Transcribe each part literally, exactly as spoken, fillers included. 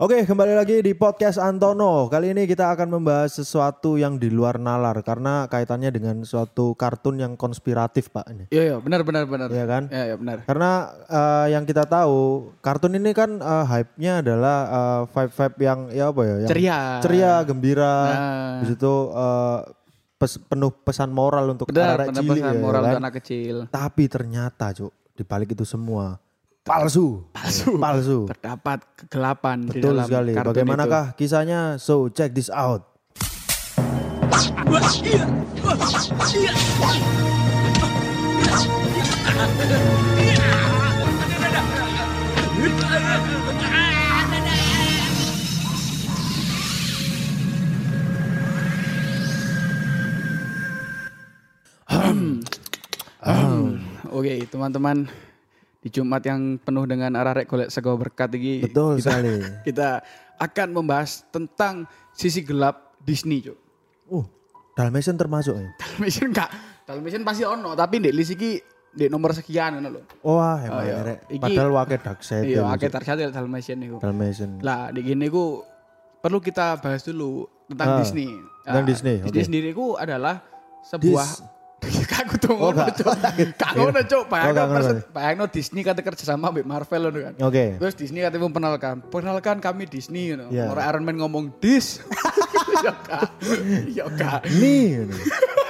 Oke, kembali lagi di podcast Antono. Kali ini kita akan membahas sesuatu yang di luar nalar karena kaitannya dengan suatu kartun yang konspiratif, Pak. Ini. Iya, iya, benar benar benar. Iya kan? Iya, iya, benar. Karena uh, yang kita tahu, kartun ini kan uh, hype-nya adalah uh, vibe-vibe yang ya apa ya? Yang ceria. Ceria, gembira. Nah. Di situ uh, pes, penuh pesan moral untuk Benar, anak benar cilik pesan ya, moral kan? untuk anak kecil. Tapi ternyata, Cuk, di balik itu semua palsu. Palsu. Palsu. Terdapat kegelapan di Betul dalam sekali. kartun Bagaimanakah itu? Kisahnya? So check this out. Oke, teman-teman, di Jumat yang penuh dengan arah rek golek sego berkat ini. Betul kita, sekali. Kita akan membahas tentang sisi gelap Disney, Cuk. Uh, Dalmatian termasuk ya? Dalmatian enggak. Dalmatian pasti ono, tapi ndek list iki ndek nomor sekian ngono lho. Wah, emang Oh, iya. rek. Iki- Padahal wake dark side. Iya, akeh target Dalmatian niku. Dalmatian. Lah, di gini ku perlu kita bahas dulu tentang Ah, Disney. tentang Ah, Disney, Disney oke. sendiri ku adalah sebuah Dis- Kaku tuh Oh, ngono, gak. Cuk. Kak ngono, Cuk. Oh, Bayangno gak ngono. persen- bayangno Disney kata kerja sama ambek Marvel ngono kan. Oke. Terus Disney katanya memperkenalkan, perkenalkan kami Disney ngono. Iya. Orang Iron Man ngomong dis. Ya kak. Ya kak. Nih. ini.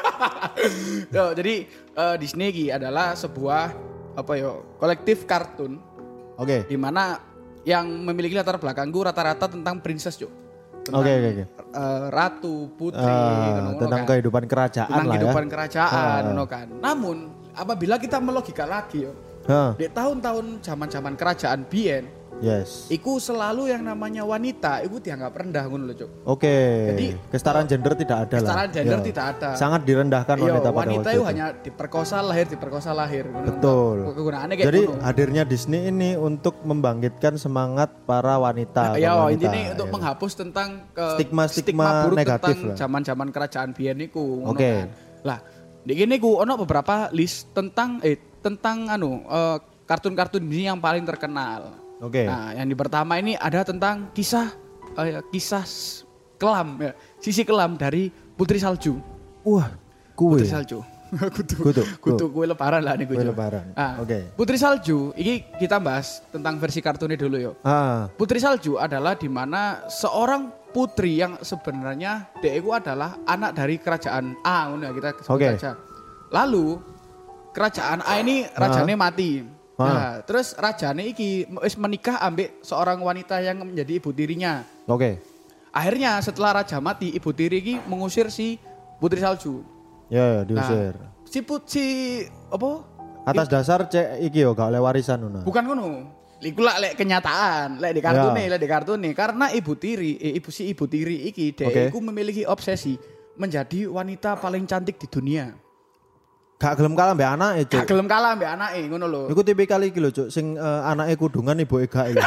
Yo, jadi eh, Disney iki adalah sebuah apa yo kolektif kartun Oke. di mana yang memiliki latar belakangku rata-rata tentang princess, Cuk. Tentang Oke, oke, oke. eh, ratu, putri, Ah, ngono-ngono tentang kan. kehidupan kerajaan Tentang lah kehidupan ya. kerajaan, Ah. ngono kan. Namun apabila kita melogika lagi yo, Hah, di tahun-tahun zaman-zaman kerajaan Bien, yes. iku selalu yang namanya wanita, iku dianggap rendah ngono lho, Cuk. Oke. Jadi, kesetaraan gender tidak ada lah. Kesetaraan gender Ya. tidak ada. Sangat direndahkan Iya, wanita pada wanita waktu itu itu. hanya diperkosa lahir, diperkosa lahir. Ngono. Betul. Kegunaannya kayak Jadi ngono. hadirnya Disney ini untuk membangkitkan semangat para wanita. Ya, kaum wanita, intinya untuk ya. menghapus tentang ke Stigma-stigma buruk negatif tentang lah. zaman-zaman kerajaan Bien niku, ngono Oke. kan. Lah, di gini ku ono beberapa list tentang eh tentang anu eh, kartun-kartun ini yang paling terkenal. Oke. Nah, yang di pertama ini ada tentang kisah eh, kisah s- kelam ya, sisi kelam dari Putri Salju. Wah, kue. Putri Salju. Kutu. Kutu. Kutu kue lebaran lah nih Kue lebaran. Ah, Oke. Putri Salju, ini kita bahas tentang versi kartunnya dulu yo. Ah, Putri Salju adalah di mana seorang putri yang sebenarnya dia itu adalah anak dari kerajaan A, ngono ya kita sebut Oke. saja. Lalu kerajaan A ini rajanya mati. Ah. Nah, terus rajanya iki wis menikah ambek seorang wanita yang menjadi ibu tirinya. oke. Akhirnya setelah raja mati, ibu tiri iki mengusir si Putri Salju. Ya, ya, diusir. Nah, si put si apa? Atas dasar cek iki yo gak oleh warisan ngono. Bukan ngono. Iku lah lek kenyataan, lek di kartune, lek di kartune karena ibu tiri, eh, ibu si ibu tiri iki dia Oke. iku memiliki obsesi menjadi wanita paling cantik di dunia. Gak gelem kalah mbek anake, Gak Cuk. gelem kalah mbek anake ngono lho. Iku tipikal iki lho, Cuk, sing uh, anake kudungan ibuke gak iki.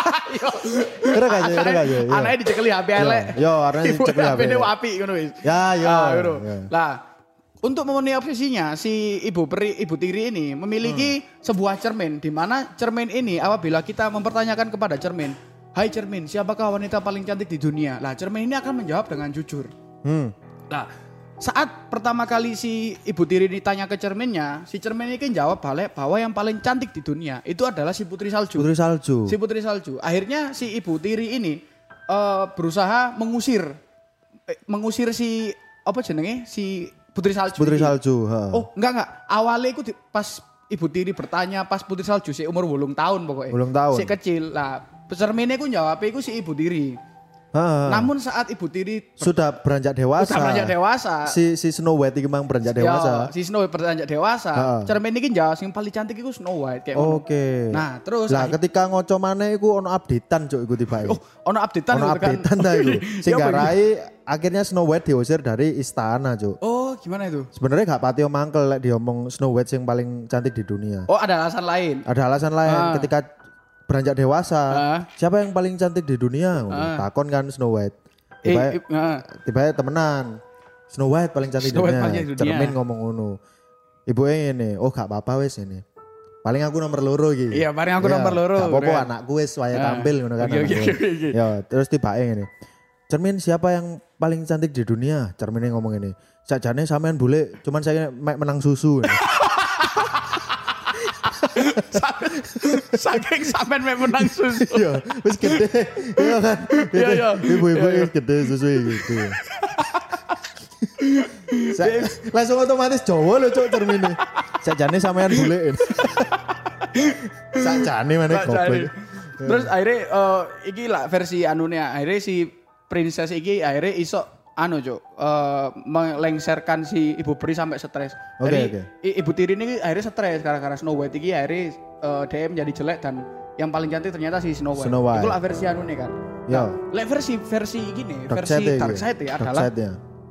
Kira gak ya, kira gak ya. Iya. Anake dicekeli H P elek. Yo, anake Ibu dicekeli H P. H P-ne apik ngono wis. Ya, yo. Ah, ngono. Ya. Lah, untuk memenuhi obsesinya si ibu peri, ibu tiri ini memiliki Hmm. sebuah cermin di mana cermin ini apabila kita mempertanyakan kepada cermin, "Hai cermin, siapakah wanita paling cantik di dunia?" Lah, cermin ini akan menjawab dengan jujur. Hmm. Nah, saat pertama kali si ibu tiri ditanya ke cerminnya, si cermin ini kan jawab balik bahwa yang paling cantik di dunia itu adalah si Putri Salju. Putri Salju. Si Putri Salju. Akhirnya si ibu tiri ini eh, berusaha mengusir eh, mengusir si apa jenenge si Putri Salju. Putri ini. Salju, ha. Oh, enggak enggak. Awalnya itu di- pas ibu tiri bertanya pas Putri Salju si umur wolung tahun pokoknya. Wolung tahun. Si kecil. Lah, cerminnya ku jawab iku si ibu tiri. Ha. Namun saat ibu tiri Sudah beranjak dewasa. Sudah beranjak dewasa. Si si Snow White iki mang beranjak dewasa. Ya, si Snow White beranjak dewasa. Ha. Cermin ini jawab yang paling cantik itu Snow White kayak ngono. Oke. Nah, terus Lah akhir- ketika ngoco maneh iku ono updatean, Cuk, iku tibae. Oh, ono updatean Ono gitu kan. updatean ta iku. Sing Ya, apa garai akhirnya Snow White diusir dari istana, Cuk. Oh, gimana itu? Sebenarnya gak patio mangkel lek diomong Snow White yang paling cantik di dunia. Oh, ada alasan lain. Ada alasan lain Ah. ketika beranjak dewasa. Ah. Siapa yang paling cantik di dunia? Ah. Takon kan Snow White. Eh, Tiba eh, ah. tiba temenan. Snow White paling cantik di Snow White dunia. paling cantik di dunia. Cermin ngomong ngono. Ibu ini, oh gak apa-apa wes ini. paling aku nomor loro iki. Iya, paling aku nomor loro. Gak apa-apa Udah. anakku wis waya tampil ngono kan. Oke, oke, anakku. oke, oke. Ya, terus tibake ngene. Cermin siapa yang paling cantik di dunia? Cerminnya ngomong ini. Sakjane sampean bule, cuman saya mek menang susu. Saking sampean mek menang susu. Iya, wis gede. Iya kan. Iya, iya. Ibu-ibu wis gede susu gitu. Sa- langsung otomatis Jawa lho cuk cermine. Sakjane sampean bule. Sakjane maneh goblok. Terus akhirnya uh, iki lah versi anune akhirnya si princess iki akhirnya iso anu cuk uh, melengsarkan si ibu peri sampai stres. Oke, Jadi oke. i- ibu tiri ini akhirnya stres gara-gara Snow White iki akhirnya uh, dia menjadi jelek dan yang paling cantik ternyata si Snow White. Snow White. Itu lah versi anune kan. Yo. Nah, lek versi versi gini, Dark versi side ya, dark iki. side ya Dark adalah side ya.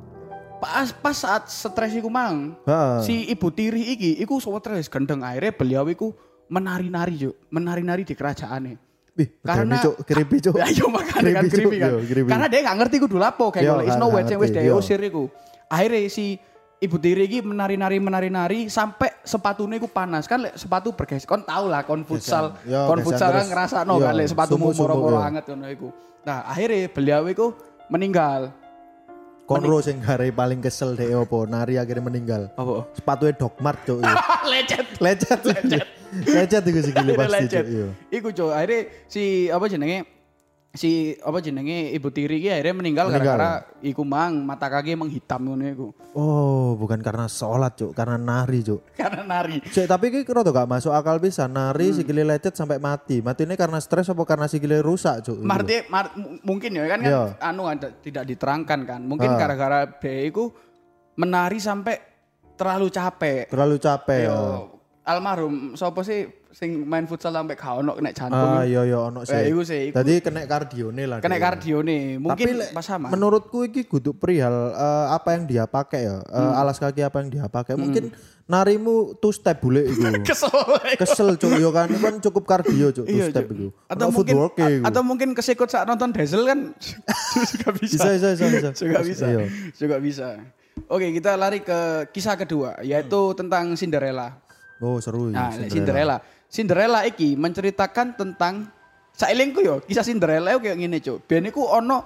pas pas saat stres iku mang. Heeh. Si ibu tiri iki iku stres gendeng akhirnya beliau iku menari-nari cuk, menari-nari di kerajaannya. Wih, Karena cuk, creepy cuk. Ya yo makanya kan Creepy, Cuk. creepy kan. Yo, creepy. Karena dia gak ngerti kudu lapo kayak Yo, golek gak- Snow gak White sing wis ngerti, dia yo. usir iku. Akhirnya si ibu tiri iki menari-nari menari-nari sampai sepatunya iku panas kan lek sepatu bergeser kon tau lah kon futsal Yo, kon geser futsal kan terus. ngerasakno Yo, kan lek sepatumu sumuk-sumuk, moro-moro yo. anget ngono iku. Nah, akhirnya beliau iku meninggal. Konro sing gare paling kesel dek opo nari akhirnya meninggal. Apa? Sepatunya Dogmart cuk. Lecet. Lecet. Lecet. Lecet iku sikile Akhirnya pasti lecet. cuk. Iya. Iku cuk, akhirnya si apa jenenge si apa jenenge ibu tiri iki akhirnya meninggal Meninggal. gara-gara iku mang mata kaki menghitam ngono iku. Oh, bukan karena sholat cuk, karena nari cuk. Karena nari. Cek, tapi iki rada gak masuk akal bisa nari Hmm. sikile lecet sampai mati. Matinya karena stres apa karena sikile rusak cuk? Marti, mar, m- mungkin ya kan kan Iya. anu ada, tidak diterangkan kan. Mungkin Ah. gara-gara dia iku menari sampai terlalu capek. Terlalu capek. Yo, ya. almarhum sapa sih sing main futsal sampai gak ono kena jantung. Ah iya iya ono sih. Eh, iku sih, iku. Tadi kena kardione lah. Kena dia. kardione. Mungkin Tapi lek, pas sama. menurutku iki kudu perihal eh, apa yang dia pakai ya. Eh, Hmm. alas kaki apa yang dia pakai. Mungkin narimu two step bule iku. Kesel. Kesel cuk yo kan, itu kan cukup kardio cuk two Iya, step Cuk. iku. Atau Ono mungkin footwork e iku. atau mungkin kesikut saat nonton Dazzle kan juga bisa. Bisa bisa bisa bisa. Juga bisa. Iya. Juga bisa. Oke, kita lari ke kisah kedua yaitu tentang Cinderella. Oh seru ya. Nah, Cinderella. Cinderella. Cinderella iki menceritakan tentang sailingku yo, kisah Cinderella yo kayak ngene, Cuk. Biyen iku ono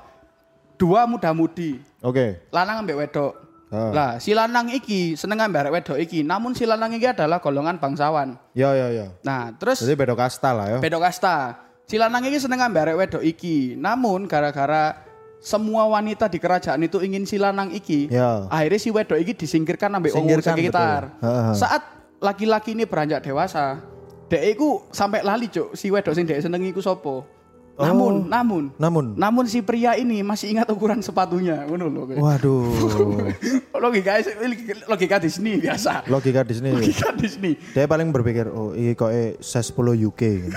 dua muda-mudi, Oke. lanang ambek wedok. Ah. Lah, si lanang iki seneng ambek arek wedok iki, namun si lanang iki adalah golongan bangsawan. Ya ya ya. Nah, terus Jadi beda kasta lah ya. beda kasta. Si lanang iki seneng ambek arek wedok iki, namun gara-gara semua wanita di kerajaan itu ingin si lanang iki, Ya. akhirnya si wedok iki disingkirkan ambek wong Singkirkan, sekitar. betul. Ha, ha. Saat laki-laki ini beranjak dewasa, dek iku sampai lali cuk si wedok sing dek seneng iku sopo. Namun, namun, Namun. namun si pria ini masih ingat ukuran sepatunya, ngono lho. kowe. Waduh. Logika logika Disney biasa. Logika di sini. Logika Disney. Dia paling berpikir, oh ini kok eh size sepuluh U K.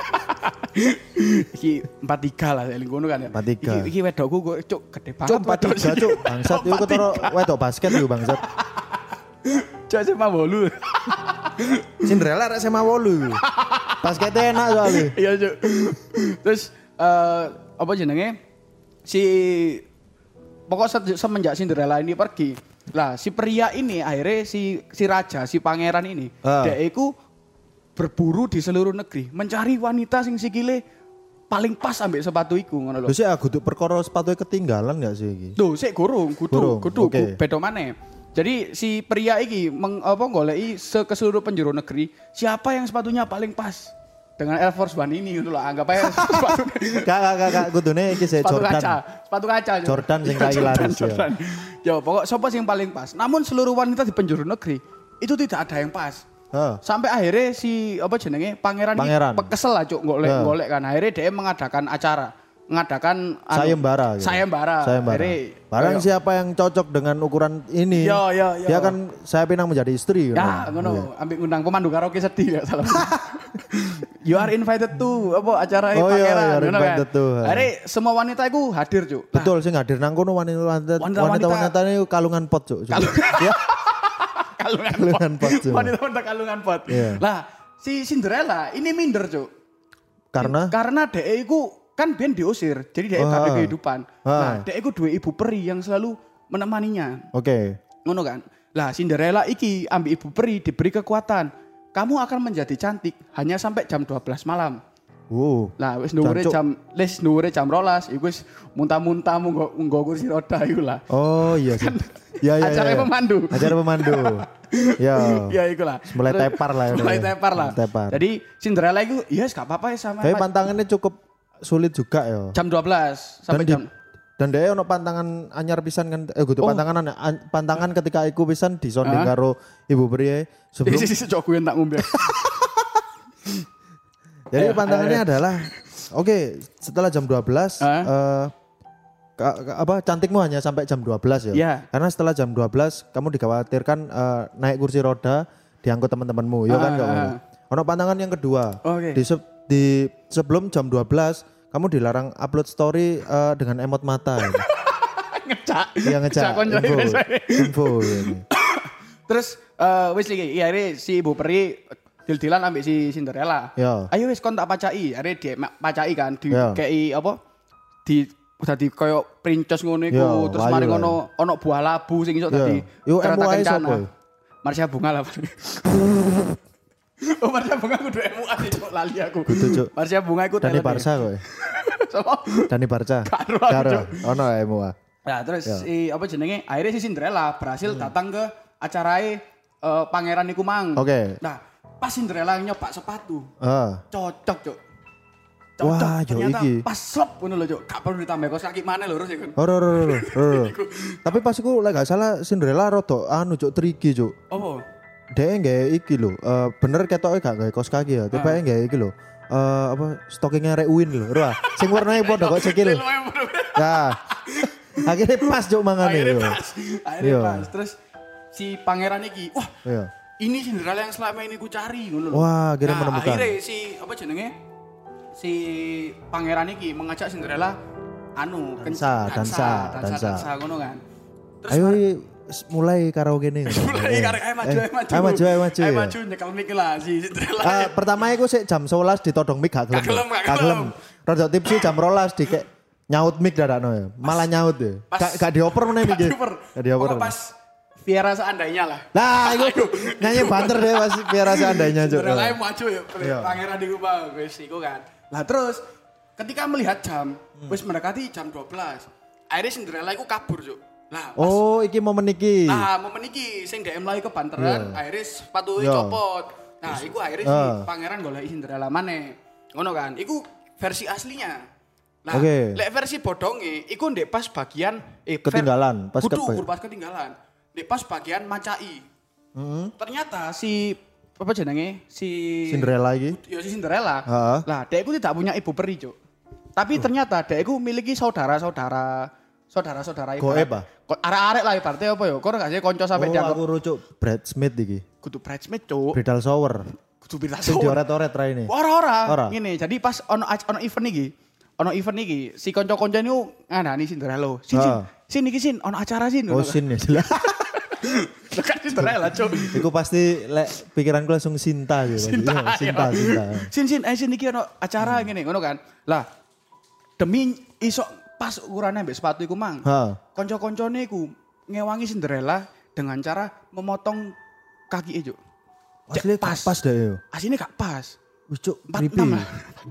Iki empat tiga lah eling ngono kan ya. empat tiga. Iki, iki wedokku kok cuk gede banget. Cuk empat tiga wedok cuk. sini. Bangsat Cuk, itu empat ketara tiga. wedok basket yuk bangsat. Cuk sama bolu. Cinderella rek sama wolu. Basketnya enak soalnya. Iya cuk. Terus eh apa jenenge? Si pokok se- semenjak Cinderella ini pergi. Lah si pria ini akhirnya si si raja, si pangeran ini, Ah. dia iku berburu di seluruh negeri, mencari wanita sing sikile paling pas ambek sepatu iku ngono lho. Terus ya kudu perkara sepatunya ketinggalan gak sih iki? Tuh, sik gurung, kudu, Gurung, kudu, oke. ku- beda maneh. Jadi si pria iki meng, apa goleki se ke seluruh penjuru negeri, siapa yang sepatunya paling pas dengan Air Force One ini gitu loh, anggap aja sepatu, Kak kak kak kak kudune iki sih sepatu Jordan. kaca, sepatu kaca. Cuk. Jordan sing Iya, kai Jordan, laris, ya. Jordan. Ya, pokok siapa sih yang paling pas. Namun seluruh wanita di penjuru negeri itu tidak ada yang pas. Heeh. Sampai akhirnya si apa jenenge pangeran, Pangeran. ini kesel lah cuk golek Ya. golek kan. Akhirnya dia mengadakan acara, mengadakan anu, Sayembara gitu. Sayembara. Sayembara. Akhirnya- Barang Ayo. siapa yang cocok dengan ukuran ini, Yo, yo, yo. dia akan saya pinang menjadi istri. Ya, gitu. ngono, ambil undang pemandu karaoke sedih ya salah. You are invited to apa acara Oh, iya, pangeran, you are ngono invited kan. to. Akhirnya semua wanita itu hadir, Cuk. Nah, Betul sih hadir nang kono wanita-wanita Wanita-wanita- wanita-wanita ini kalungan pot cuk. Cuk. Ya, kalungan, kalungan pot, pot. Cuk. Wanita-wanita kalungan pot. Iya. Lah, si Cinderella ini minder, Cuk. Karena Karena dhek iku kan ben diusir, jadi dhek gak ada Ah. kehidupan. Ah. Nah, dhek iku duwe ibu peri yang selalu menemaninya. oke. Ngono kan. Lah Cinderella iki ambil ibu peri diberi kekuatan. kamu akan menjadi cantik hanya sampai jam dua belas malam. Wow. Lah wis dhuwure jam les dhuwure jam rolas iku wis muntah-muntah munggo nggo kursi roda iku lah. Oh iya sih. Ya ya. Acara ya, ya. pemandu. Acara pemandu. Ya. Ya iku lah. Mulai tepar lah. Mulai tepar lah. Tepar. Jadi Cinderella iku ya yes, gak apa-apa ya sama. Tapi pantangannya cukup sulit juga ya. Jam dua belas sampai dan jam di, dan dia ono pantangan anyar pisan kan eh gitu oh. pantangan an, pantangan ketika iku pisan disonding karo Ibu Pria sebelum Isi isi cok tak ngombe. Jadi ayo, pantangannya ayo, ayo. adalah oke, okay, setelah jam dua belas uh. Uh, ka, ka, apa cantikmu hanya sampai jam dua belas ya. Yeah. Karena setelah jam dua belas kamu dikhawatirkan uh, naik kursi roda diangkut teman-temanmu, ya uh, kan uh, uh. Ono pantangan yang kedua. Okay. Di, se- di sebelum jam dua belas kamu dilarang upload story uh, dengan emot mata. Ya. Ngecak. Iya ngecak. Info. Info ini. Terus uh, wis iki, iya si Ibu Peri dil-dilan ambek si Cinderella. Yo. Ayo wis kon tak pacai, are dia pacai kan di kei apa? Di dadi koyo princess ngono iku, terus mari ngono ono buah labu sing iso dadi. Yo M U A sapa? Marsha Bunga lah. Oh Marsha Bunga kudu M U A cuk lali aku. Marsha Bunga iku Dani Barca kowe. Sopo? Dani Barca. Karo ono M U A. Nah, terus si apa jenenge? Akhirnya si Cinderella berhasil hmm. datang ke acarae uh, pangeran iku mang. Oke. Okay. Nah, pas Cinderella nyoba sepatu. Uh. Cocok, Cuk. Cocok. Wah, ternyata iki. pas slop ngono lho, Cuk. Gak perlu ditambah kaos kaki maneh lho, Rus iku. Ora, ora, ora, ora. Tapi pas iku lek gak salah Cinderella rada anu, Cuk, triki, Cuk. Apa? Dhek nggae iki lho, uh, bener ketoke gak gawe kaos kaki ya. Tiba-tiba nggae iki lho. Uh, apa stokingnya Rek Win lho, ora. Sing warnane padha kok sikil. Nah. Akhirnya pas Cuk mangane. Akhirnya pas. Akhirnya pas. Terus si pangeran iki, wah. Iya. Ini Cinderella yang selama ini ku cari ngono lho. Wah, akhirnya nah, menemukan. Akhirnya si apa jenenge? Si pangeran iki mengajak Cinderella anu dansa, dansa, dansa, dansa ngono kan. Terus ayo mulai karaoke nih. Mulai karaoke ayo maju, ayo maju. Ayo maju, ayo maju. Ayo maju nyekel mic lah si Cinderella. Uh, pertama iku sik jam sebelas ditodong mic gak gelem. Gak gelem. Rada tipsi jam rolas dikek nyaut mic dadakno ya. Malah nyaut ya. Gak gak dioper meneh iki. Gak dioper. Pas Viera seandainya lah. Nah, itu nyanyi banter deh pas Viera seandainya juga. Cinderella maju ya, pangeran di rumah, wis iku kan. Lah terus ketika melihat jam, hmm. wis mendekati jam dua belas. Akhirnya Cinderella iku kabur, Cuk. Lah, oh, iki momen iki. Nah, momen iki sing D M lagi ke banteran, yeah. akhirnya sepatu yeah. copot. Nah, iku akhirnya uh. si pangeran golek Cinderella maneh. Ngono kan. Iku versi aslinya. Nah, okay. lek versi bodonge iku ndek pas bagian eh ketinggalan, pas kudu pas ketinggalan. Di pas bagian macai. Mm-hmm. Ternyata si apa jenenge si Cinderella iki. Ya si Cinderella. Uh-huh. Lah, dekku tidak punya ibu peri, Cuk. Tapi uh. ternyata dekku memiliki saudara-saudara saudara-saudara ibu. Goib ah. Arek-arek lah ibaratnya apa ya? Kok gak sih kanca sampe oh, dianggap. Oh, aku rucuk bridesmaid iki. Kudu bridesmaid, Cuk. Bridal shower. Kudu bridal shower. Sing dioret-oret raine. Ora-ora. Ngene, jadi pas ono ono event iki, ono event iki, si kanca-kanca niku ngandani Cinderella. Sin, uh. sin, sin iki sin, ono acara sin. Oh, sin ya. Dekat Cinderella, Cuk. Iku pasti lek pikiranku langsung Sinta gitu. Sinta, Sinta, Sinta. Sin sin, eh sin iki ono acara hmm. ngene, ngono kan. Lah demi iso pas ukurane mbek sepatu iku mang. Kanca-kancane iku ngewangi Cinderella dengan cara memotong kaki Cuk. Asli pas pas deh yo. Asline gak pas. Wis Cuk, empat puluh enam lah.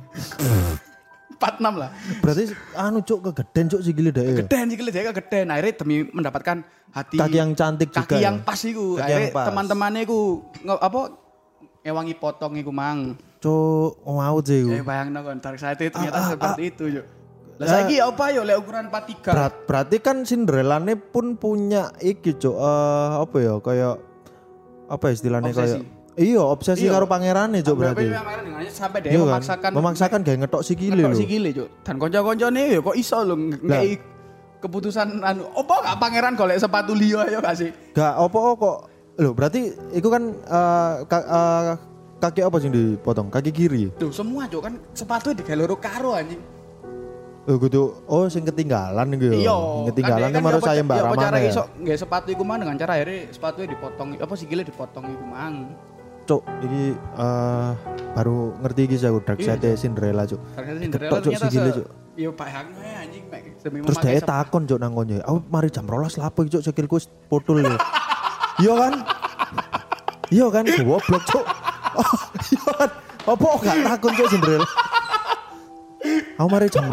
empat puluh enam lah. Berarti anu Cuk kegeden Cuk sikile dhek. Kegeden sikile dhek kegeden. Akhirnya demi mendapatkan hati kaki yang cantik kaki juga. Kaki yang ya? Pas iku. Akhirnya teman-temannya iku apa ngewangi potong iku mang. Cuk, mau sih iku. Ya bayangno kon Dark Side ternyata ah, seperti ah, itu Cuk. Lah saiki apa yo lek ukuran empat tiga. Berat, berarti kan Cinderella-ne pun punya iki Cuk, uh, apa ya kayak apa istilahnya kayak iya, obsesi iyo. Karo pangerane Cuk berarti. Sampai dia iyo, memaksakan kan? memaksakan gawe ngetok sikile lho. Ngetok sikile Cuk. Dan kanca-kancane ya kok iso lho ngeki keputusan anu opo gak pangeran golek sepatu liya ya gak sih? Gak opo kok. Lho berarti iku kan uh, ka, uh, kaki apa sing dipotong? Kaki kiri. Tuh semua Cuk kan sepatu digawe loro karo anjing. Oh gitu. Oh sing ketinggalan iku ya. Iya. Ketinggalan kan baru saya Mbak Ramana. Ya apa cara iso nggawe sepatu iku mang dengan cara akhirnya sepatunya dipotong apa sikile dipotong iku mang. Cuk, iki uh, baru ngerti iki saya Dark Side Cinderella, Cuk. Dark Side Cinderella ternyata se... Cuk. Yo bayangno anjing mek demi memakai. Terus dia takon Cuk nang konyo. Aku mari jam rolas lapo iki Cuk sikilku putul lho. Iya kan? Iya kan goblok Cuk. Oh, iya. Apa gak takon cuk Cinderella? Aku mari jam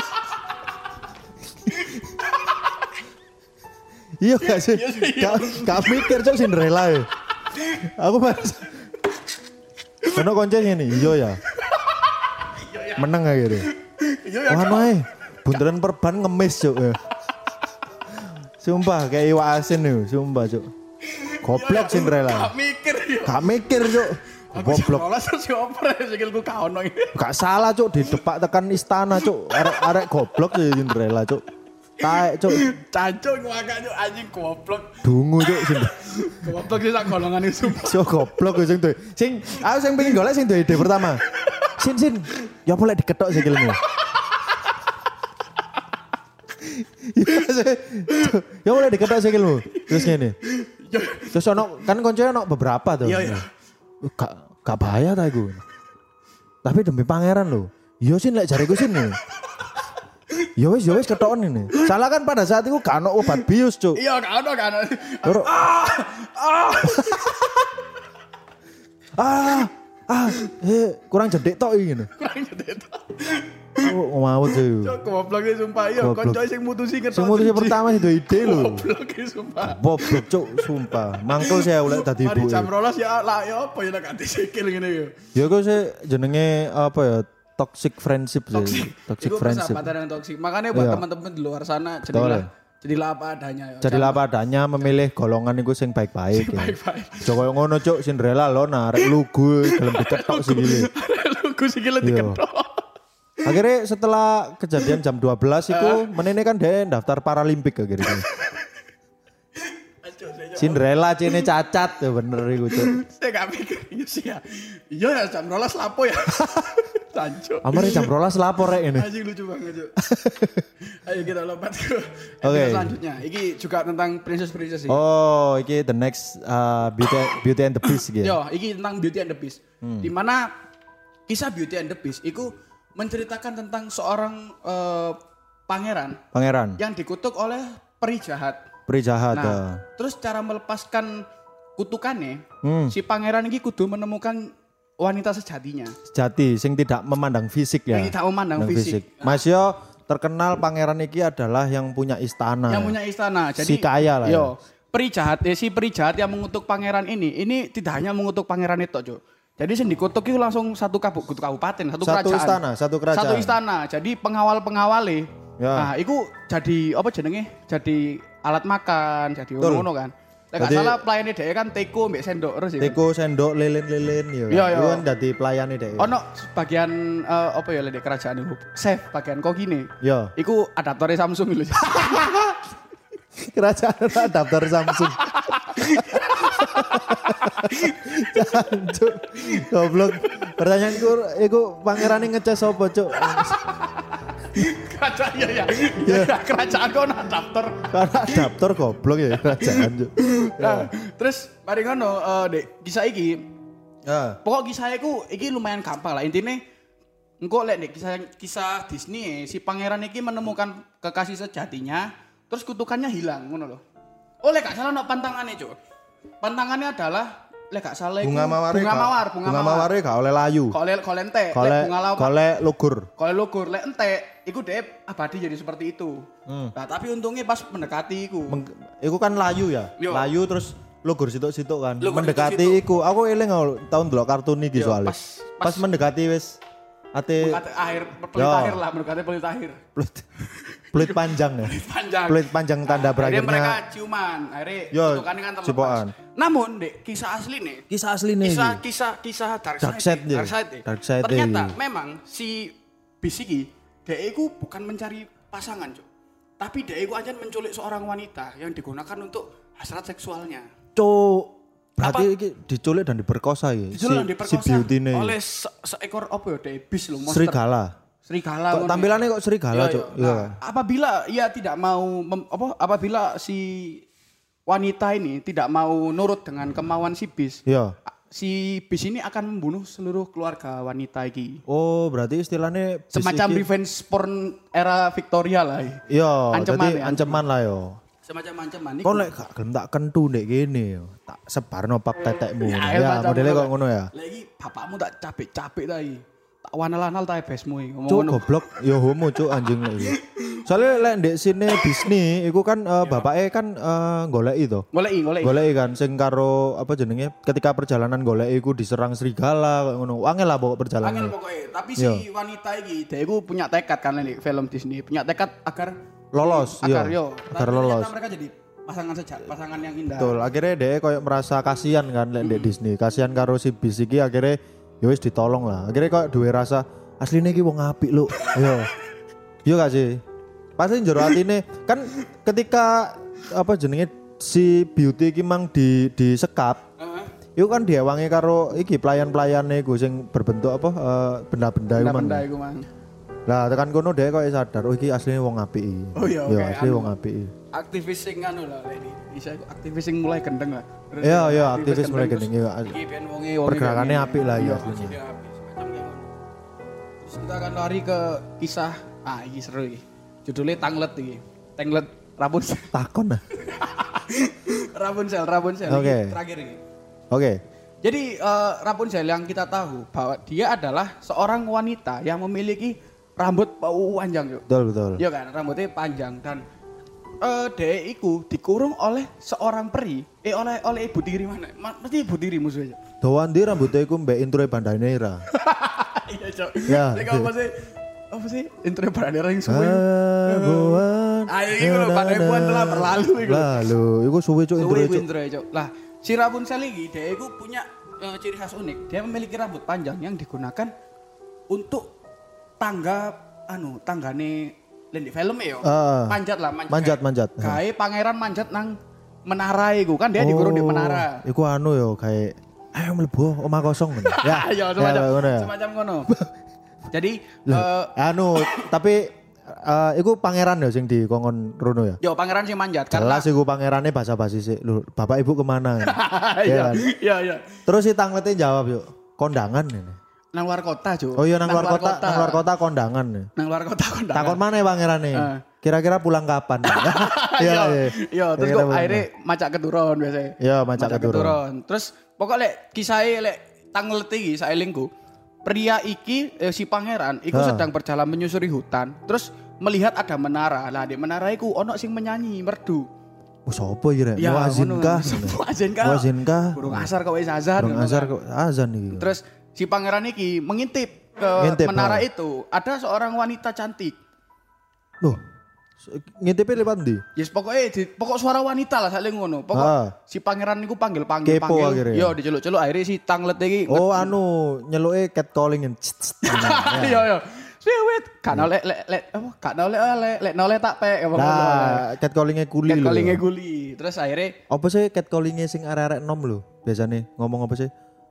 Iya gak sih? Gak, gak mikir cok Cinderella ya. Aku mas. Karena koncenya nih, iya ya. Menang aja gitu. Wah noy, bundaran perban ngemis cok ya. Sumpah kayak iwak asin nih, sumpah cok. Goblok Cinderella. Gak mikir ya. Gak mikir cok. Goblok. Aku terus oper sikilku gak ono. Gak salah cok, di depak tekan istana cok. Arek-arek goblok sih Cinderella cok. Taek cuk. Cancuk ngakak cuk anjing goblok. Dungu cuk sing. Goblok sih sak golongan iku sumpah. So goblok sing duwe. Sing aku sing pengen golek sing duwe ide pertama. Sin sin. Ya boleh diketok sikilmu. Ya boleh diketok sikilmu. Terus ngene. Terus ono kan koncone ono beberapa tuh. Iya iya. Gak gak bahaya ta iku. Tapi demi pangeran lho. Iya sin lek jariku sin. Ya wis ya wis ketoken ini. Salah kan pada saat itu gak ono obat bius, Cuk. Iya, gak ono gak ono. Ah. Ah. Ah, eh kurang jedek tok iki ngene. Kurang jedek tok. Oh, mau sih. Cuk, goblok iki sumpah iya, konco sing mutusi ketok. Sing mutusi pertama itu ide lho. Goblok iki sumpah. Goblok, Cuk, sumpah. Mangkel saya oleh dadi ibu. Mari jam rolas ya lah ya apa ya nek ganti sikil ngene ya. Ya kok sih jenenge apa ya? Toxic friendship sih. Toxic, toxic itu friendship. persahabatan yang toxic. Makanya buat iya. teman-teman di luar sana jadilah jadilah apa adanya. Ya. Jadilah apa adanya memilih golongan iku sing baik-baik. Sing baik-baik. Coba ngono cuk Cinderella lo narek lugu gelem diketok sikile. Lugu sikile diketok. Akhirnya setelah kejadian jam dua belas itu menene kan dia daftar Paralimpik akhirnya. Cinderella cene cacat ya bener iku cuk. Saya gak mikir iya sih ya. Iya ya jam rolas lapo ya. Tanco. Amare jam rolas lapor rek ini. Anjing lucu banget, Cuk. Ayo kita lompat ke Oke. okay. selanjutnya. Iki juga tentang princess-princess sih. Oh, iki the next uh, Beauty, Beauty and the Beast gitu. Yo, iki tentang Beauty and the Beast. Hmm. Di mana kisah Beauty and the Beast iku menceritakan tentang seorang uh, pangeran. Pangeran. Yang dikutuk oleh peri jahat. Peri jahat. Nah, uh. terus cara melepaskan kutukannya, hmm. si pangeran ini kudu menemukan wanita sejatinya. Sejati, sing tidak memandang fisik ya. Yang tidak memandang fisik. fisik. Mas Yo terkenal pangeran iki adalah yang punya istana. Yang punya istana. Jadi, si kaya lah. Yo, ya. Peri jahat, eh, si peri jahat yang mengutuk pangeran ini, ini tidak hanya mengutuk pangeran itu, Cuk. Jadi sing dikutuk itu langsung satu kabupaten, satu, satu kerajaan. Satu istana, satu kerajaan. Satu istana. Jadi pengawal-pengawale. Ya. Nah, itu jadi apa jenenge? Jadi alat makan, jadi ngono kan. Lek gak salah pelayane dhek kan teko mbek sendok terus ya. Teko, sendok, lilin-lilin ya. Iya, iya. Itu kan dadi pelayane dhek. Ono bagian uh, apa ya lek kerajaan itu? Chef bagian kokine. Iya. Iku adaptore Samsung lho. Kerajaan adaptor Samsung. Jancuk. Goblok. Pertanyaanku iku pangerane ngecas sapa, Cuk? Kerajaan ya ya. Ya kerajaan kok adaptor. Karena adaptor goblok ya kerajaan, Cuk. Nah, terus mari ngono uh, Dek, kisah iki. Ya. Pokok kisah iku iki lumayan gampang lah. Intine engko lek Dek kisah kisah Disney si pangeran iki menemukan kekasih sejatinya, terus kutukannya hilang ngono loh. Oh lek gak salah ono pantangane, Cuk. Pantangannya adalah lek gak salah bunga mawar bunga mawar, bunga, bunga mawar gak oleh layu. Kok oleh kok entek, lek bunga lawar. Kok oleh lugur. Kok oleh lugur, lek entek iku dhek abadi jadi seperti itu. Hmm. Nah, tapi untungnya pas mendekati iku. Meng, iku kan layu ya. Yo. Layu terus lugur situk-situk kan. Lugur mendekati situk. Iku. Aku eling tahun delok kartun iki soalnya. Pas, pas, pas mendekati wis ate mendekati akhir pelit akhir lah, mendekati pelit akhir. Pelit. Pelit panjang ya. Pelit panjang. Pelit panjang tanda nah, berakhirnya. Akhirnya mereka ciuman, akhirnya kutukannya kan terlepas. Cipokan. Namun, Dek, kisah asli nih. Kisah asli nih. Kisah kisah kisah Dark Side. Dark Side. Dark Side. Dark Side. Ternyata memang si Bisiki, Dek iku bukan mencari pasangan, Cuk. Tapi Dek iku aja menculik seorang wanita yang digunakan untuk hasrat seksualnya. Cuk. Berarti iki diculik dan diperkosa ya. Diculik dan diperkosa si beauty oleh se seekor apa ya, Dek bis lho, monster. Serigala. Serigala. Kok tampilannya kok serigala, Cuk. Iya. Nah, apabila ia tidak mau mem, apa apabila si wanita ini tidak mau nurut dengan kemauan si bis. Iya. Si bis ini akan membunuh seluruh keluarga wanita iki. Oh, berarti istilahnya semacam iki revenge porn era Victoria lah. Iya, ancaman, jadi ancaman lah yo. Semacam ancaman iku. Kok lek gak gelem tak kentu ndek kene yo. Tak sebarno pap tetekmu. Ya, Ya, macam modelnya ngono. kok ngono ya. Lah iki bapakmu tak capek-capek ta iki. Tak wanal-wanal ta besmu iki ngomong Cuk ngono. goblok yo homo cuk anjing lek iki. Soalnya lek ndek sini Disney iku kan uh, bapake kan uh, goleki to. Goleki, goleki. Goleki kan sing karo apa jenenge ketika perjalanan goleki iku diserang serigala kayak ngono. Angel lah pokok perjalanan. Angel pokoknya. Tapi si Yo. wanita iki dia iku punya tekad kan nek film Disney, punya tekad agar Lolos, agar iya. yo. Agar Tapi lolos. ternyata mereka jadi pasangan sejak pasangan yang indah. Betul, akhirnya dia koyo merasa kasihan kan lek ndek Disney. Kasihan karo si bis iki akhirnya ya wis ditolong lah. Akhirnya koyo duwe rasa asline iki wong apik lho. Yo. Yo gak sih? Pasti njero atine kan ketika apa jenenge si beauty iki mang di disekap. Heeh. Iku kan diewangi karo iki pelayan-pelayane iku sing berbentuk apa eh, benda-benda iku mang. Benda iku mang. Lah tekan kono dhek koyo sadar oh iki asline wong apik iki. Oh iya, Yo oke, asli anu. wong apik. Aktivis sing anu lah lek iki. Bisa aktivis sing mulai gendeng lah. Terus Iya iya aktivis mulai terus gendeng iya. Iki ben wonge wonge. Pergerakannya kayak gini. apik lah ya Iya, aslinya. aslinya apik semacam kayak ngono. Terus kita akan lari ke kisah ah iki seru iki. Judulnya Tanglet iki. Tanglet Rapunzel. Takon nah. Rapunzel, Rapunzel. Oke. Iki terakhir ini. Oke. Jadi eh, Rapunzel yang kita tahu bahwa dia adalah seorang wanita yang memiliki rambut panjang yuk. Betul betul. Iya kan, rambutnya panjang dan eh dia iku dikurung oleh seorang peri. Eh oleh oleh ibu tiri mana? Ma- Mesti ibu tiri musuhnya. Dawan ndi rambutnya iku mbek intro Bandanera. Iya, Cok. Ya. Lek apa sih? Apa sih? Intro Bandanera yang suwe. Abuan. Ayo iku lho pada buan telah berlalu iku. Lalu iku suwe cuk intro Suwe iku cuk. intro Cok. Lah, si Rapunzel iki dia iku punya eh, ciri khas unik. Dia memiliki rambut panjang yang digunakan untuk tangga anu, tanggane lain di film ya. Ah. Manjat lah, manjat. Manjat, manjat. Kayak pangeran manjat nang menara iku kan dia dikurung di menara. Iku anu yo kayak ayo mlebu omah kosong ngono. Ya. Ya, semacam ya, ngono ya. semacam ngono. Jadi Lah, eh anu tapi eh, iku pangeran ya sing dikongkon rono ya. yo pangeran sing manjat karena Jelas iku pangerane basa-basi sih. Lho, bapak ibu kemana? iya kan? iya iya. Terus si Tanglete jawab yuk, kondangan ini. Nang luar kota, Cuk. Oh iya nang luar kota, nang luar kota kondangan. Nang luar kota kondangan. Takon mana ya pangerane? Eh. Kira-kira pulang kapan? Iya, iya. iya, terus Kira-kira kok pulang akhirnya macak keturun biasanya. Iya, macak keturun. Terus pokok lek kisahnya lek Tanglet iki saelingku. Pria iki eh, si pangeran iku Ha. sedang berjalan menyusuri hutan. Terus melihat ada menara. Lah di menara iku ono sing menyanyi merdu. Oh sopo iki rek? Ya, Muazin ngono. kah? Muazin kah? Muazin kah? Burung asar kok wis azan. Burung ngono azar kan. kok azan iki. Terus si pangeran iki mengintip ke Ngintip, menara ha. itu. Ada seorang wanita cantik. Loh. Ngintipnya lewat ndi? Yes pokoknya di, pokok suara wanita lah saling ngono. Pokok Ah. si pangeran niku panggil panggil Kepo panggil. akhirnya. Yo diceluk-celuk akhirnya si Tanglet iki. Oh anu nyeluke catcalling. Iya iya. Sweet. Kan oleh lek lek apa? Kan oleh oleh lek noleh tak pe apa ngono. Nah, catcallingnya kuli lho. Callinge guli. Terus akhirnya Apa sih catcallingnya sing arek-arek nom lho? Biasanya ngomong apa sih?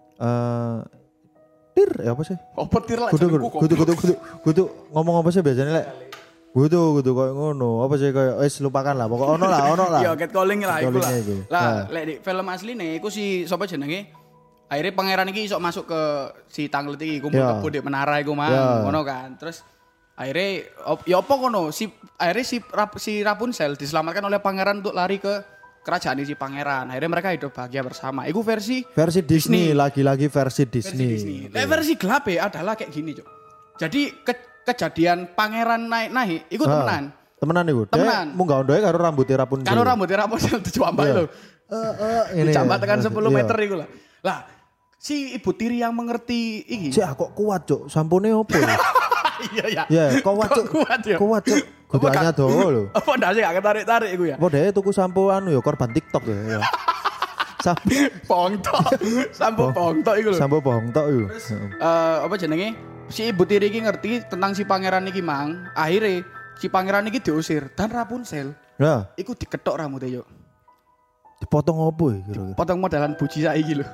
Eh tir ya apa sih? apa tir lah Kudu jenengku kudu kudu kudu kudu ngomong apa sih biasanya lek? Kudu kudu koyo ngono. Apa sih koyo wis lupakan lah. Pokok ono lah, ono lah. Iya, catcalling lah iku lah. Catcallingnya iku. Lah, Nah. lek di film asline iku si sapa jenenge? Akhirnya pangeran iki iso masuk ke si Tanglet iki kumpul Ya. kebo di menara iku mang, Ya. ngono kan. Terus akhirnya op, ya apa ngono? Si akhirnya si Rap, si Rapunzel diselamatkan oleh pangeran untuk lari ke kerajaan si pangeran. Akhirnya mereka hidup bahagia bersama. Iku versi Versi Disney, Disney. lagi-lagi versi versi Disney. Disney. Lek versi gelap ya adalah kayak gini, Cuk. Jadi ke- kejadian pangeran naik-naik iku Ah, temenan. Temenan iku. Temenan. Dia munggah ondoe karo rambutnya Rapunzel. Kalau rambutnya Rapunzel dijambak Iya. lho. Eh eh ini. Dijambak tekan sepuluh Iya. meter iku lah. Lah, si ibu tiri yang mengerti iki. Cek kok kuat, Cuk. Sampune opo ya? Iya ya. Ya, kuat, Kok Cuk. kuat ya? Kuat, Cuk. Apa Gudangnya gak- dawa lho. Apa ndak sih gak ketarik-tarik iku ya? Apa dhewe tuku sampo anu ya korban TikTok ya. ya. Sampo Pongtok. Sampo pongtok iku lho. sampo bohong tok iku. Eh apa jenenge? Si ibu tiri iki ngerti tentang si pangeran iki mang. Akhirnya si pangeran iki diusir dan Rapunzel Ya, iku diketok rambutnya yuk. dipotong opo ya kira-kira? Potong modelan buji saiki lho.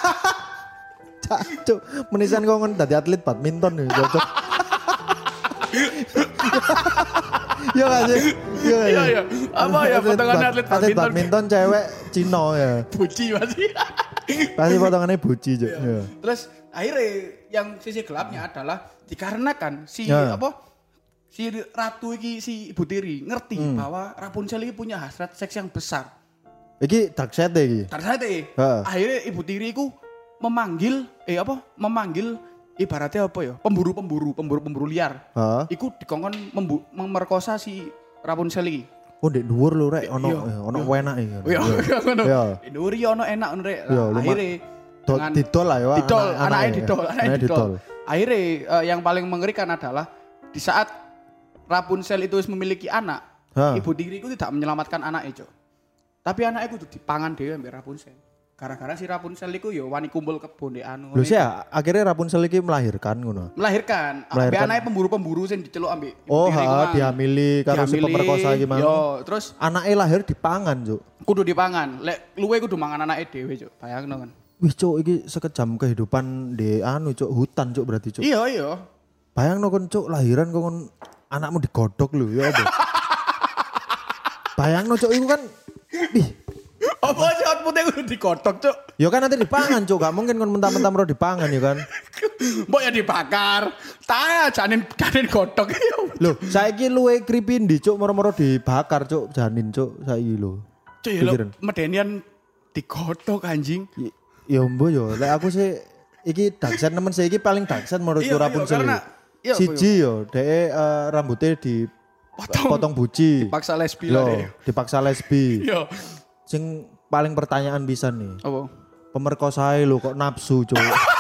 Cuk, menisan kok ngon dadi atlet badminton ya cocok. Iya gak sih? Iya iya. Apa ya potongannya atlet Atlet badminton badminton cewek Cina ya. buji masih. Pasti potongannya buji, Cuk. Ya. Terus akhirnya yang sisi gelapnya adalah dikarenakan si Ya. apa si ratu iki si Ibu Tiri ngerti hmm. bahwa Rapunzel ini punya hasrat seks yang besar. Iki dark side iki. Dark side. Akhirnya Ibu Tiri iku memanggil eh apa? Memanggil ibaratnya apa ya? Pemburu-pemburu, pemburu-pemburu liar. Heeh. Iku dikongkon membu- memerkosa si Rapunzel iki. Oh, ndek dhuwur lho rek ono ono enak iki. Iya, ngono. Iya. Dhuwur iki ono enak ngono rek. Akhire didol lah ya. Didol, anake didol, anake didol. Akhirnya uh, yang paling mengerikan adalah di saat Rapunzel itu memiliki anak, ha. Ibu Tiri itu tidak menyelamatkan anak itu. Tapi anak itu dipangan dhewe ambek Rapunzel. Gara-gara si Rapunzel itu ya wani kumpul kebon ndek anu. Lho sih akhirnya Rapunzel iki melahirkan ngono. Melahirkan. Ambek anake pemburu-pemburu sing diceluk ambek Ibu oh, Tiri. Oh, dihamili karo si pemerkosa iki mang. Yo, terus anake lahir dipangan, Cuk. Kudu dipangan. Lek luwe kudu mangan anake dhewe, Cuk. Bayangno kan. Wih, Cuk, iki sekejam kehidupan di anu, Cuk, hutan, Cuk, berarti, Cuk. Iya, iya. Bayangno kon, Cuk, lahiran kon anakmu digodhog lho, ya apa? Bayangno, Cuk, iku kan ih apa sih outputnya kudu digodhog, Cuk? Ya kan nanti dipangan, Cuk. Gak mungkin kon mentah-mentah mero dipangan ya kan. Mbok ya dibakar. Ta janin janin godhog. Lho, saiki luwe creepy ndi, Cuk, moro-moro dibakar, Cuk, janin, Cuk, saiki lho. Cuk, ya lho, medenian digodhog anjing. Y- ya mbok yo, lek aku sih iki daksen nemen sih iki paling daksen menurutku Rapunzel. Siji yo, dhek uh, rambutnya di potong, potong buci. Dipaksa lesbi lah deh. Dipaksa lesbi. Yo. Sing paling pertanyaan bisa nih. Apa? Pemerkosae lho kok nafsu, Cuk.